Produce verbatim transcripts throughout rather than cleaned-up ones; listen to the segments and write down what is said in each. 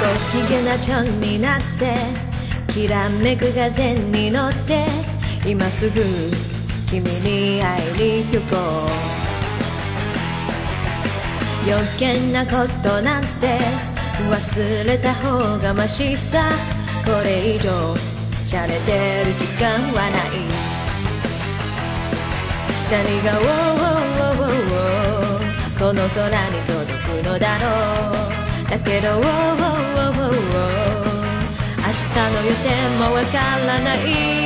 ご機嫌なチョンになってきらめく風に乗って今すぐ君に会いに行こう。余計なことなんて忘れた方がマシさ。これ以上しゃれてる時間はない。何が「ウォーウォーウォーウォー」この空に届くのだろう。だけど「ウォーウォーウォーウォーウォー」明日の予定もわからない。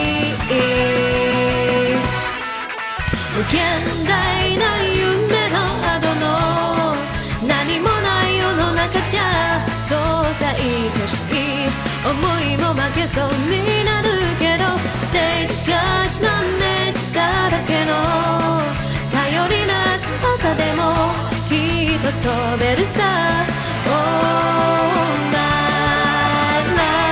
無限大な夢の後の何もない世の中じゃそうさ愛しい思いも負けそうになるけどステージがしなめ力だけの頼りな翼でもきっと飛べるさ。 Oh my love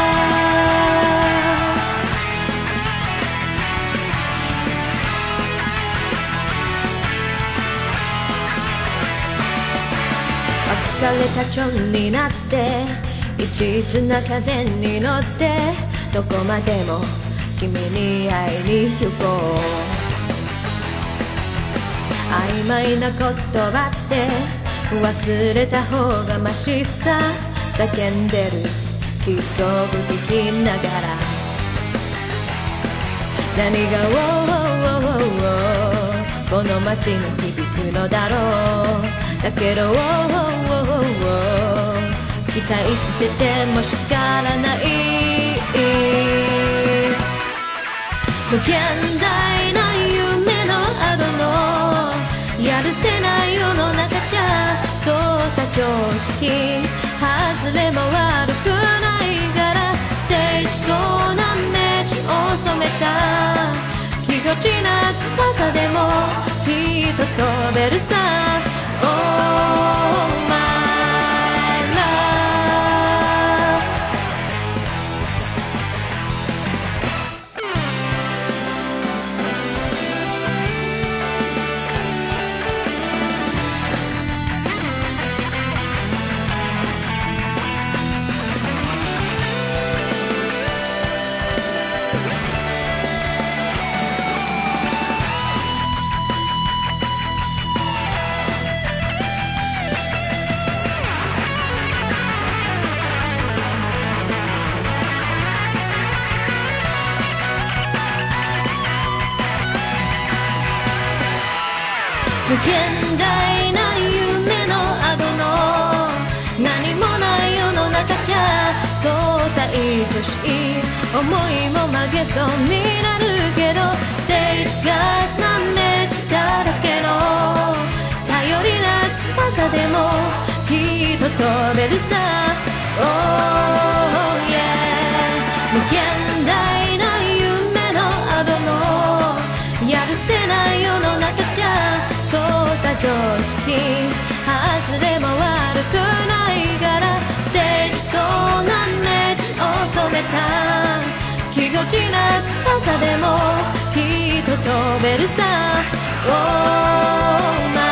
別れたチョンになって一途な風に乗ってどこまでも君に会いに行こう。曖昧な言葉って忘れた方がマシさ。叫んでるキスを聞きながら何が「ウォーウォーウォーウォー」この街に響くのだろう。だけど「ウォーウォーウォーウォー」期待してても仕方ない。無限大な夢の後のやるせない世の中じゃそうさ常識外れも悪くないからステージそうな道を染めたぎこちな翼でもきっと飛べるさ。 Oh my love 無限大な夢の後の何もない世の中じゃそうさ愛しい思いも曲げそうになるけどステージがしなめ力だけの頼りな翼でもきっと飛べるさ。 Oh yeah 無限大な夢の後のやるせない世の中じゃそうさ常識外れも悪くないからステージそうな道を染めたぎこちな翼でもきっと飛べるさ。 Oh my